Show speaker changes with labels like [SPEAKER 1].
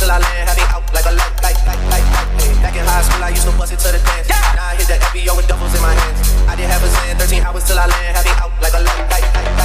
[SPEAKER 1] till I land, had me out like a light. Back in high school, I used to bust it to the dance. Now I hit the FBO with doubles in my hands. I did have a Zen, 13 hours till I land, had me out like a light.